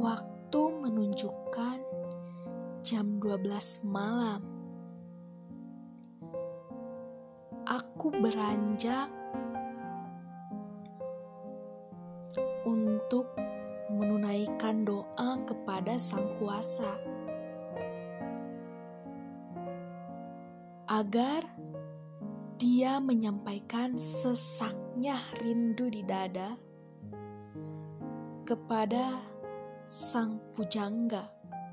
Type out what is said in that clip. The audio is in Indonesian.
Waktu menunjukkan jam 12 malam. Aku beranjak untuk menunaikan doa kepada Sang Kuasa agar Dia menyampaikan sesaknya rindu di dada kepada Sang Pujangga.